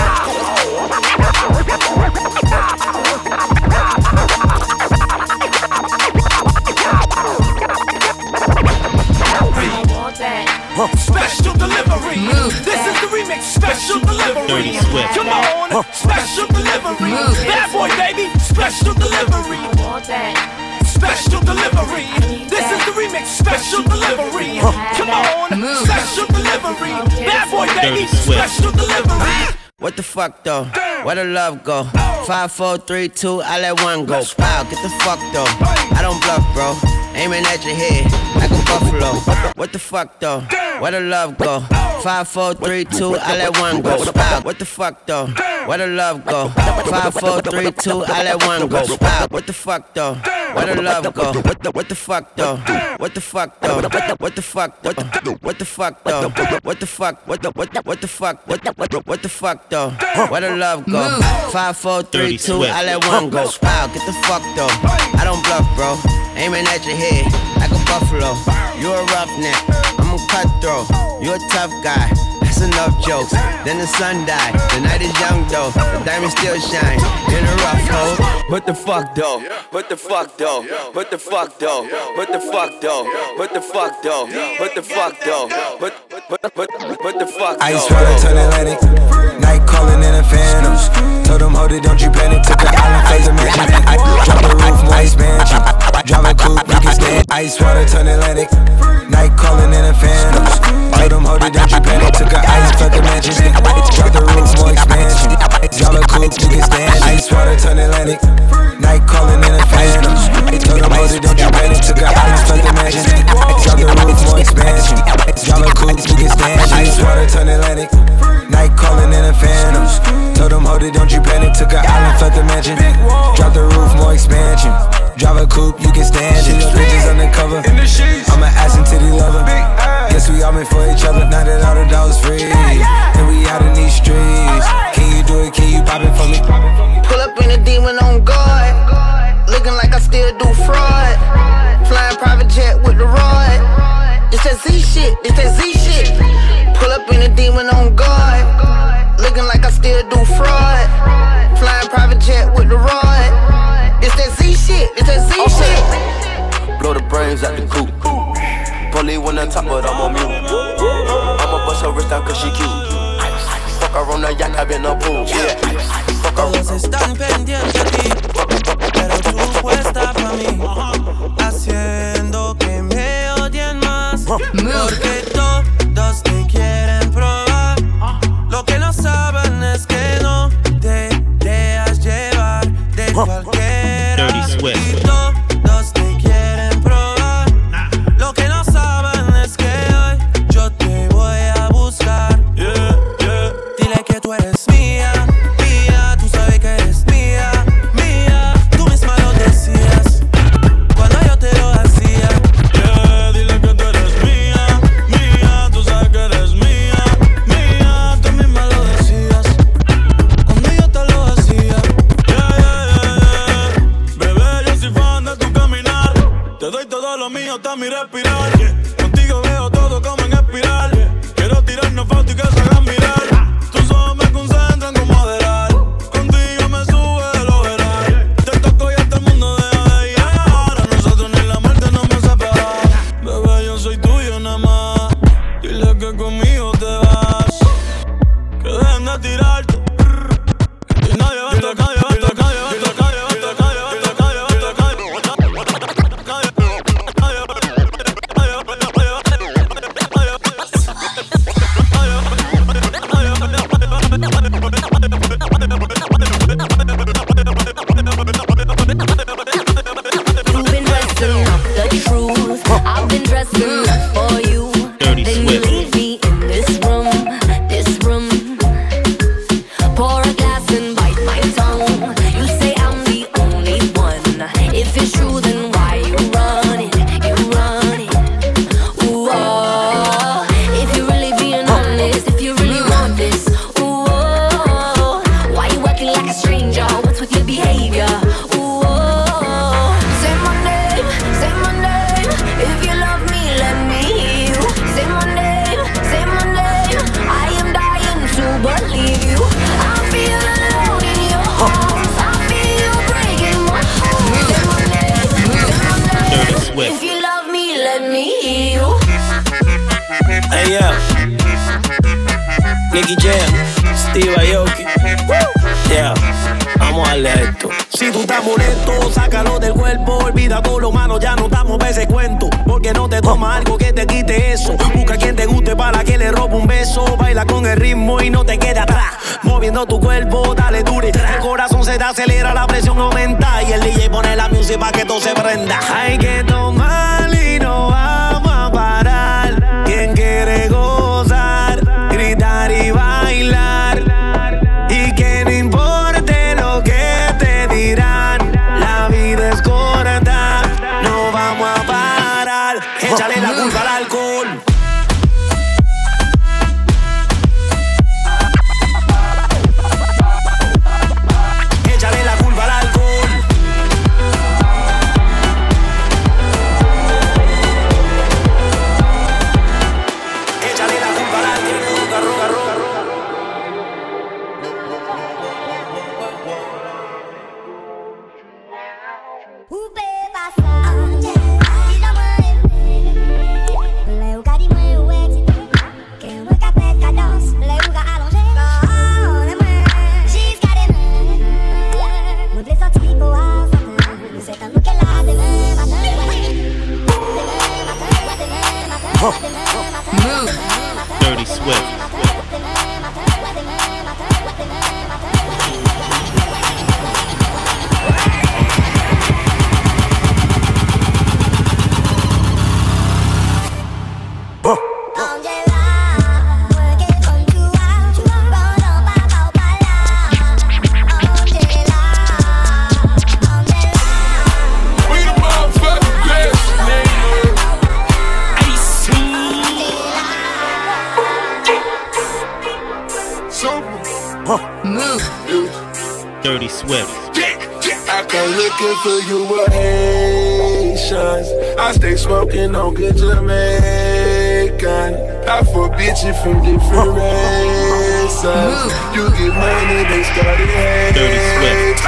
Special delivery. Move this that. Is the remix. Special delivery. Come on, special delivery. Bad boy, baby. Special delivery. Special delivery. This is the remix. Special delivery. Come on, special delivery. Bad boy, baby. Special delivery. What the fuck though? Where the love go? Five, four, three, two, I let one go. Wow, get the fuck though. I don't bluff, bro. Aiming at your head like a buffalo. What the fuck though? Where the love go? Five, four, three, two, I let one go. Wow, what the fuck though? Where the love go? Five, four, three, two, I let one go. Wow, what the fuck though? Where the love go? What the what the fuck though? What the fuck though? What the what the fuck? What the what the fuck though? What the fuck? What the what the what the fuck? What the what the what the fuck though? Where the love go? Five, four, three, two, I let one go. Wow, get the fuck though. I don't bluff, bro. Aiming at your head like a buffalo. You a roughneck, I'm a cutthroat. You a tough guy. That's enough jokes. Then the sun died. The night is young though. The diamond still shine in a rough hole. What the fuck though? What the fuck though? What the fuck though? What the fuck though? What the fuck though? What the fuck though? What what what what the fuck though? Ice water turn Atlantic. Night calling in a phantom. Told them hold it, don't you panic. Took an island, phase a mansion. I drop the roof, more expansion. Drive a coupe, you can stand. Ice water turn Atlantic. Night calling in a phantom. Told them hold it, don't you panic. Took an ice hold it, don't you panic. Took an island, felt the mansion. Drop the roof, more expansion. Drive a coupe, you can stand it. Bitches undercover. I'm an ass and titty lover. Guess we all meant for each other. Now that all the dogs free, and we out in these streets. Can you do it? Can you pop it for me? Pull up in a demon on guard. Looking like I still do fraud. Flying private jet with the rod. It's that Z shit, it's that Z shit. Pull up in a demon on guard. Looking like I still do fraud. Flying private jet with the rod. It's that Z shit, it's that Z okay. shit. Blow the brains out the coop. Polly on the top, but I'm on mute. I'ma bust her wrist down cause she cute. Fuck her on the yacht, I've been a pool. Yeah. Fuck her. Todos están pendientes de ti, pero tú puesta pa' mí, haciendo que me odien más. Porque todos te quieren probar. Lo que no saben es que no te dejas llevar de cualquiera. Dirty Swift. Y todos te quieren probar. Lo que no saben es que hoy yo te voy a buscar. Yeah, yeah. Dile que tú eres mía, mía. Tú sabes que eres mía, mía. Tú misma lo decías cuando yo te lo hacía. Yeah, dile que tú eres mía, mía. Tú sabes que eres mía, mía. Tú misma lo decías cuando yo te lo hacía. Yeah, yeah, yeah, yeah. Bebé, yo soy fan de tu caminar. Te doy todo lo mío hasta mi respirar. Contigo veo todo como en espiral. Quiero tirarnos fotos y que se hagan mirar. Tus ojos me concentran como adelar. Contigo me sube de lo veral. Te toco y hasta el mundo deja de llegar. A nosotros ni la muerte nos va a separar. Bebé, yo soy tuyo nada más. Dile que conmigo te vas. Que dejen de tirarte. Y nadie va a tocar, nadie va a tocar, nadie va a tocar, nadie va a tocar, nadie va a tocar, nadie va a tocar, nadie va a tocar. You've been dressing up the truth. I've been dressing up for you. Dirty Then you Swift. leave me in this room, this room. Pour a glass and bite my tongue. You say I'm the only one. If it's true, then why you run it? You run it. Ooh, oh. If you're really being honest, if you really want this, ooh, oh. Why you acting like a stranger? What's with your behavior? Ooh, oh. Say my name, say my name. If you love me, let me hear you. Say my name, say my name. I am dying to believe you. I feel alone in your arms. I feel you breaking my heart. Say my name, say my name. Dirty Swift. If you love me, let me hear you. Hey, yeah. Nicky Jam, Steve Aoki. Yeah, vamos a darle a esto. Si tú estás molesto, sácalo del cuerpo. Olvida todo lo malo, ya no damos ese cuento. Porque no te toma algo que te quite eso. Busca quien te guste para que le robe un beso. Baila con el ritmo y no te quede atrás. Moviendo tu cuerpo, dale dure. El corazón se te acelera, la presión aumenta. Y el D J pone la música para que todo se prenda. Hay que tomar y no vamos a parar. Quien quiere gozar, gritar y bailar. Y que no importe lo que te dirán. La vida es corta, no vamos a parar. Échale la culpa al alcohol. Échale la culpa al alcohol. Dirty Swift. I come looking for you with Haitians. I stay smoking on good Jamaican. I fuck bitches from different races. You get money, they started hating. Dirty Swift.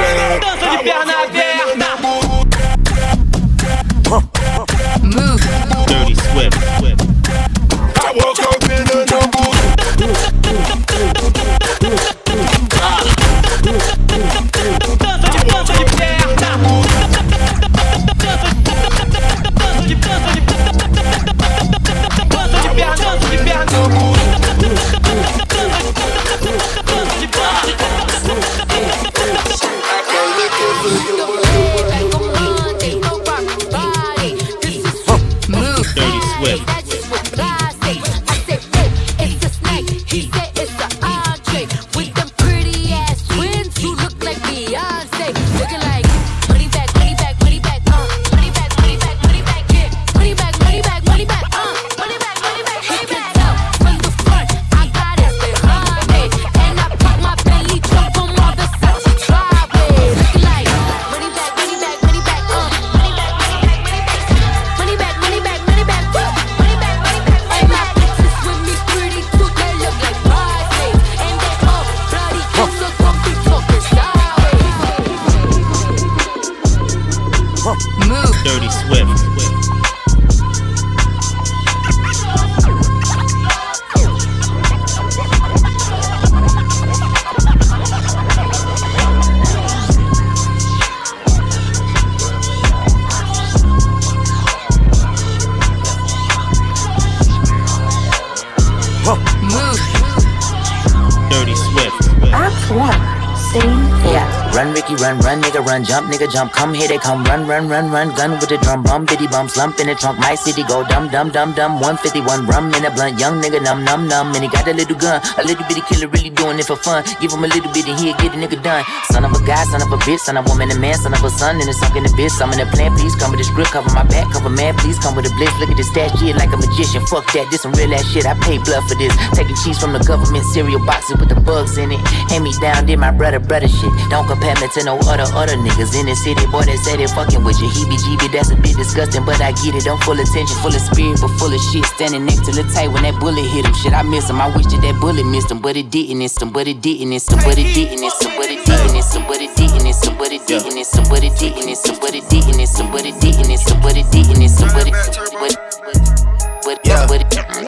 Move. Dirty Swift. I woke up in the number. Dirty Swift. Dirty Swift. Dirty Swift. Act one. Scene four. Yeah. Run, Ricky, run, run, nigga, run, jump, nigga, jump, come here, they come, run, run, run, run, gun with the drum, bum, bitty bum, slump in the trunk, my city go dumb, dumb, dumb, dumb, one fifty-one, rum in a blunt, young nigga, numb, numb, numb, and he got a little gun, a little bitty killer, really doing it for fun, give him a little bit and he'll get a nigga done, son of a guy, son of a bitch, son of a woman, a man, son of a son, and it's sunk in the bitch, I'm in the plan, please come with the script, cover my back, cover man, please come with the blitz, look at this stash shit like a magician, fuck that, this some real ass shit, I pay blood for this, taking cheese from the government cereal boxes with the bugs in it, hand me down, did my brother, brother shit, don't compare me to no other other niggas in the city, boy, they say they fucking with you. He be G B, that's a bit disgusting, but I get it. I'm full attention, full of spirit, but full of shit. Standing next to the tight when that bullet hit him. Shit, I miss him. I wish that that bullet missed him, but it didn't. It's him, but it didn't. It's him, but it didn't. It's him, but it didn't. It's him, but it didn't. It's him, but it didn't. It's him, but it didn't. It's him, but it didn't. It's him, but it didn't. It's him, but it didn't. It's him, but it but Yeah. but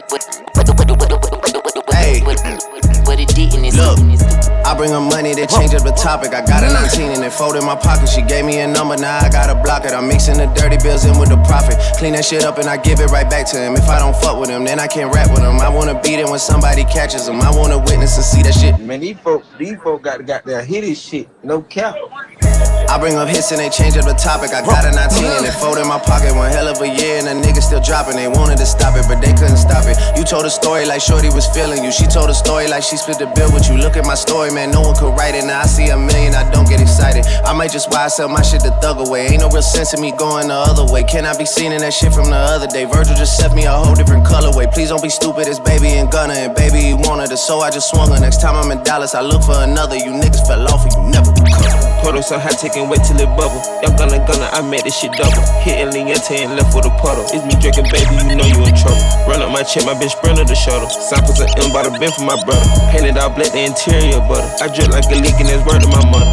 Hey. but it didn't. Look, I bring her money, they change up the topic. I got a nineteen and it fold in my pocket. She gave me a number, now I gotta block it. I'm mixing the dirty bills in with the profit. Clean that shit up and I give it right back to him. If I don't fuck with him, then I can't rap with him. I wanna beat him when somebody catches him. I wanna witness and see that shit. Man, these folk, these folk got, got their hit this shit, no cap. I bring up hits and they change up the topic. I got a nineteen and it fold in my pocket. One hell of a year and the niggas still dropping. They wanted to stop it, but they couldn't stop it. You told a story like Shorty was feeling you. She told a story like she split the bill with you. Look at my story, man, no one could write it. Now I see a million, I don't get excited. I might just why I sell my shit to thug away. Ain't no real sense in me going the other way. Can I be seen in that shit from the other day? Virgil just sent me a whole different colorway. Please don't be stupid, it's baby and Gunna. And baby, he wanted it, so I just swung her. Next time I'm in Dallas, I look for another. You niggas fell off and you never recover. Puddle so hot, taking wait till it bubble. Y'all gonna gonna, I made this shit double. Hitting Liente and left with a puddle. It's me drinking, baby, you know you in trouble. Run up my check, my bitch sprinter the shuttle. Samples of M by the bin for my brother. Painted out black, the interior butter. I drip like a leak and it's word to my mother.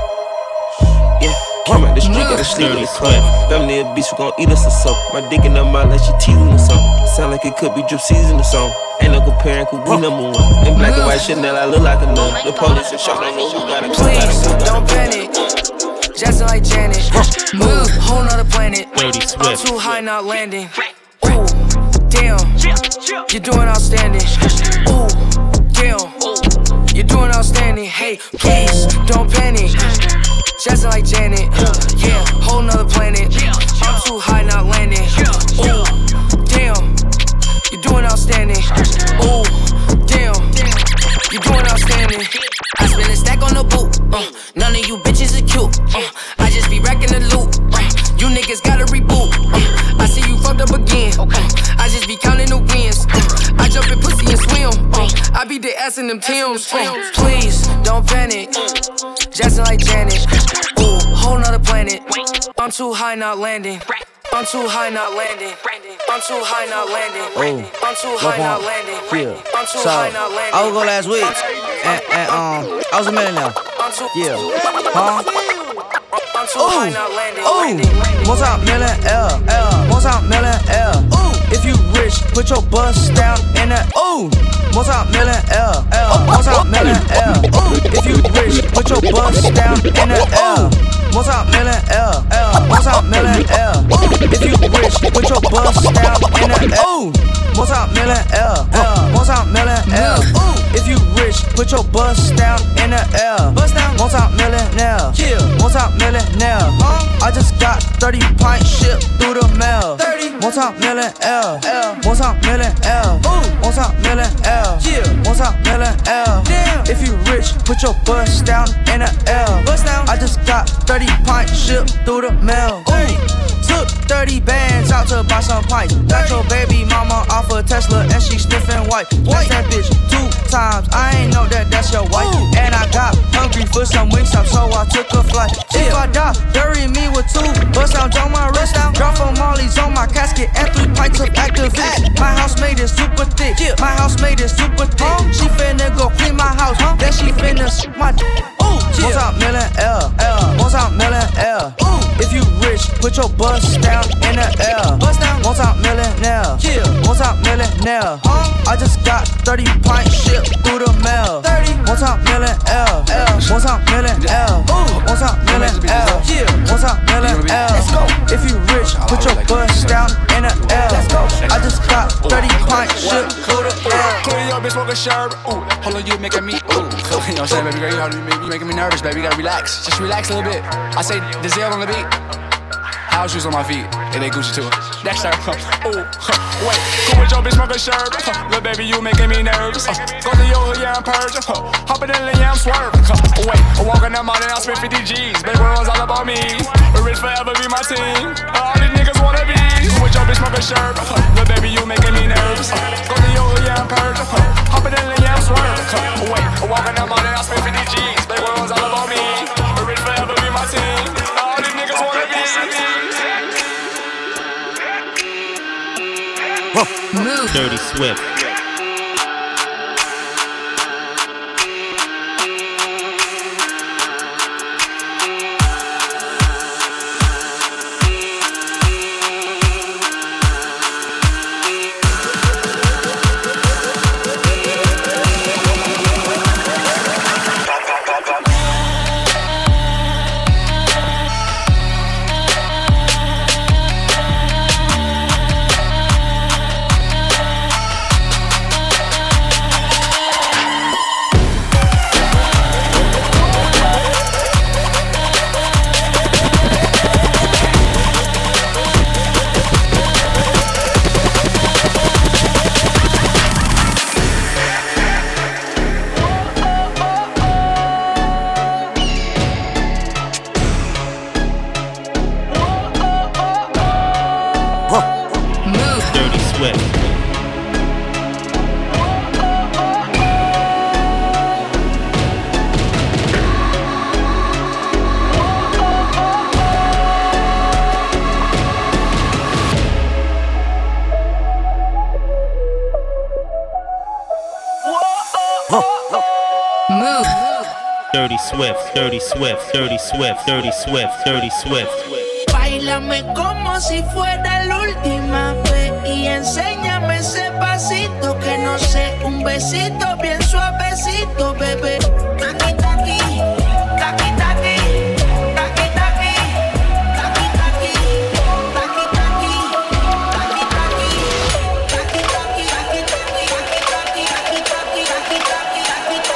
Yeah, came out the street, gotta sleep in the club. Family a beast, we gon' eat us or something. My dick in her mouth like she teasing or something. Sound like it could be drip season or something. Ain't no comparing, cause we number one. In black and white Chanel, I look like a nun. The police and shot, don't know who got it. Please, don't panic. Jackson like Janet. Move, whole nother planet. I'm too high, not landing. Ooh, damn. You're doing outstanding. Ooh, damn. You're doing outstanding. Hey, please, don't panic. Jackson like Janet. Yeah, whole nother planet. I'm too high, not landing. Ooh, damn. You're doing outstanding. Ooh, damn. You're doing outstanding. I spend a stack on the boot. Uh, none of you bitches is cute. Uh, I just be wrecking the loop. Uh, you niggas gotta reboot. Uh, I see you fucked up again. Uh, I just be counting the wins. Uh, I jump in pussy and swim. Uh, I beat the ass ass in them Timbs. Uh, please, don't panic. Jackson like Janet. Ooh, whole nother planet. I'm too high, not landing. I'm too high, not landing. I'm too high, not landing. Ooh. I'm too high, not landing. Yeah. I'm too So, high, not landing. I was go last week, and, and um, I was a millionaire. Yeah. Huh? I'm too high, not landing. Ooh, multi-million L, L, multi-million L. Ooh, if you rich, put your bust down in the ooh, multi-million L, L, multi-million L. Ooh, if you rich, put your bust down in the L, multi-million L, L, multi-million L. Ooh, if you rich, put your bust down in the ooh, multi-million L, L, multi-million L. Ooh, if you rich, put your bust down in the L, bust down, multi-millionaire, yeah, multi-millionaire. I just got thirty pints shipped through the mail. thirty multi-million L, L, multi-million L, ooh, multi-million L, yeah, multi-million L. Damn, if you rich, put your bust down in the L, bust down. I just got thirty pints shipped through the mail. Ooh, took thirty bands out to buy some pints. Got your baby mama off a Tesla and she sniffing white. White that bitch two times. I ain't know that that's your wife. Ooh. And I got hungry for some Wingstop, so I took a flight. Yeah. If I die, bury me with two bust down on my wrist down. Drop for Molly's on my casket and three pints of Activist. My housemaid is super thick. Yeah. My housemaid is super thick. Huh? She finna go clean my house. Huh? Then she finna s my d. Ooh, yeah. Multi-million L, L, multi-million L. Ooh, if you rich, put your bust down in the L. Bust down, multi-millionaire, yeah, multi-millionaire. Huh? I just got thirty pints shipped through the mail. thirty multi-million L, L, multi-million L. Ooh, multi-million L, yeah, multi-million L. Let's go. If you rich, put your bust down in the L. Let's go. I just got thirty pints shipped through the L. Clean your bitch, smoke a sherb. Ooh, hold on, you making me ooh. You know what I'm saying, baby girl? You how you make you making me nervous, baby. You gotta relax. Just relax a little bit. I say the Zell on the beat. House shoes on my feet, and they Gucci too. Next time, ooh, huh, wait. Cool with your bitch, smoke a sherb. Huh, little baby, you making me nervous. Uh, go to your hood, yeah, I'm purging. Huh, hopping in the yeah, I'm swerving. Huh, wait, I'm walking that mountain, I spend fifty G's. Baby, one's all about me. Rich forever be my team. All these niggas wanna be. Cool with your bitch, smoke a sherb. Huh, little baby, you making me nervous. Uh, go to your hood, yeah, I'm purging. Huh, hopping in the yeah, I'm swerving. Huh, wait, I'm walking that mountain, I spend fifty G's. Baby, one's all about me. Rich forever be my team. All these niggas wanna be. Dirty Swift. Dirty Swift, Dirty Swift, Dirty Swift, Dirty Swift, Dirty Swift. Báilame como si fuera la última vez y enséñame ese pasito que no sé, un besito bien suavecito, bebé. Taqui taqui, taqui taqui, taqui taqui, taqui taqui, taqui taqui, taqui taqui, taqui taqui, taqui taqui, taqui taqui, taqui taqui, taqui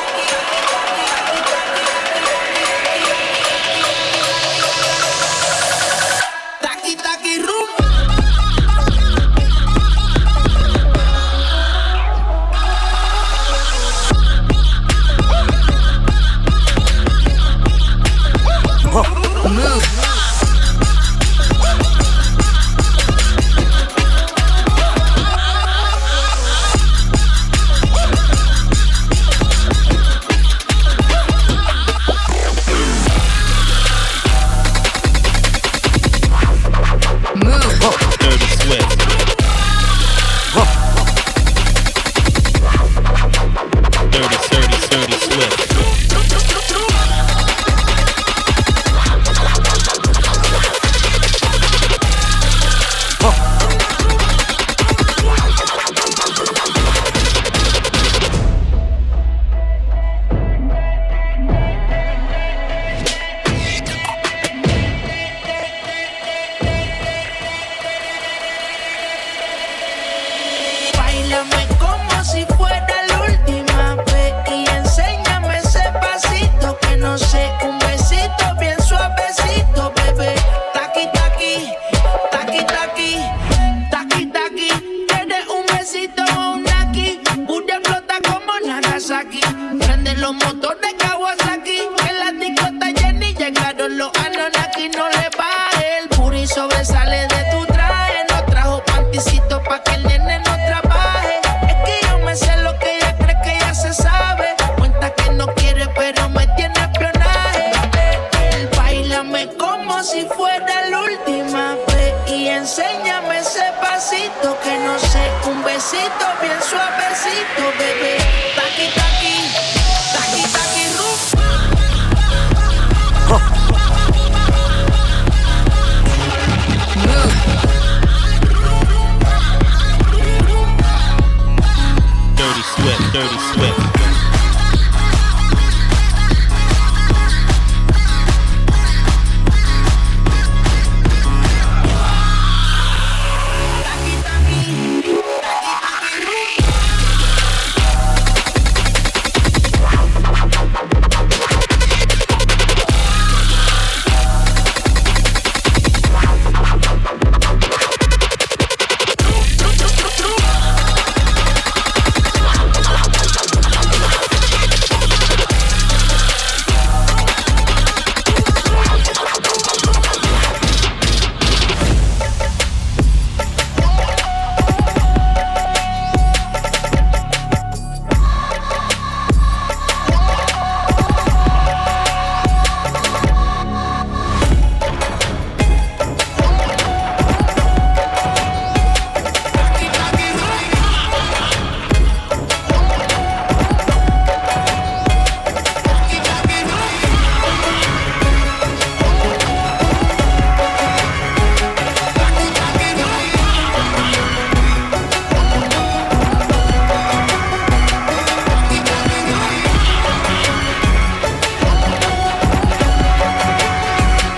no sé, un besito bien suavecito, bebé. Taqui, taqui, taqui, taqui, taqui, taqui. ¿Quieres un besito o un naki? Booty flota como Nagasaki. Prende los motores Kawasaki. En la disco está Jenny, llegaron los Anunnaki. No le baje, el booty sobresale de tu traje. No trajo panticito pa' que el nene no trabaje. Es que yo me sé lo que ella cree que ya se sabe. Cuenta que no quiere pero me tiene espionaje. Él bailame como si fuera la última vez. Y enséñame ese pasito que no sé, un besito bien suavecito, bebé. Taqui, taqui.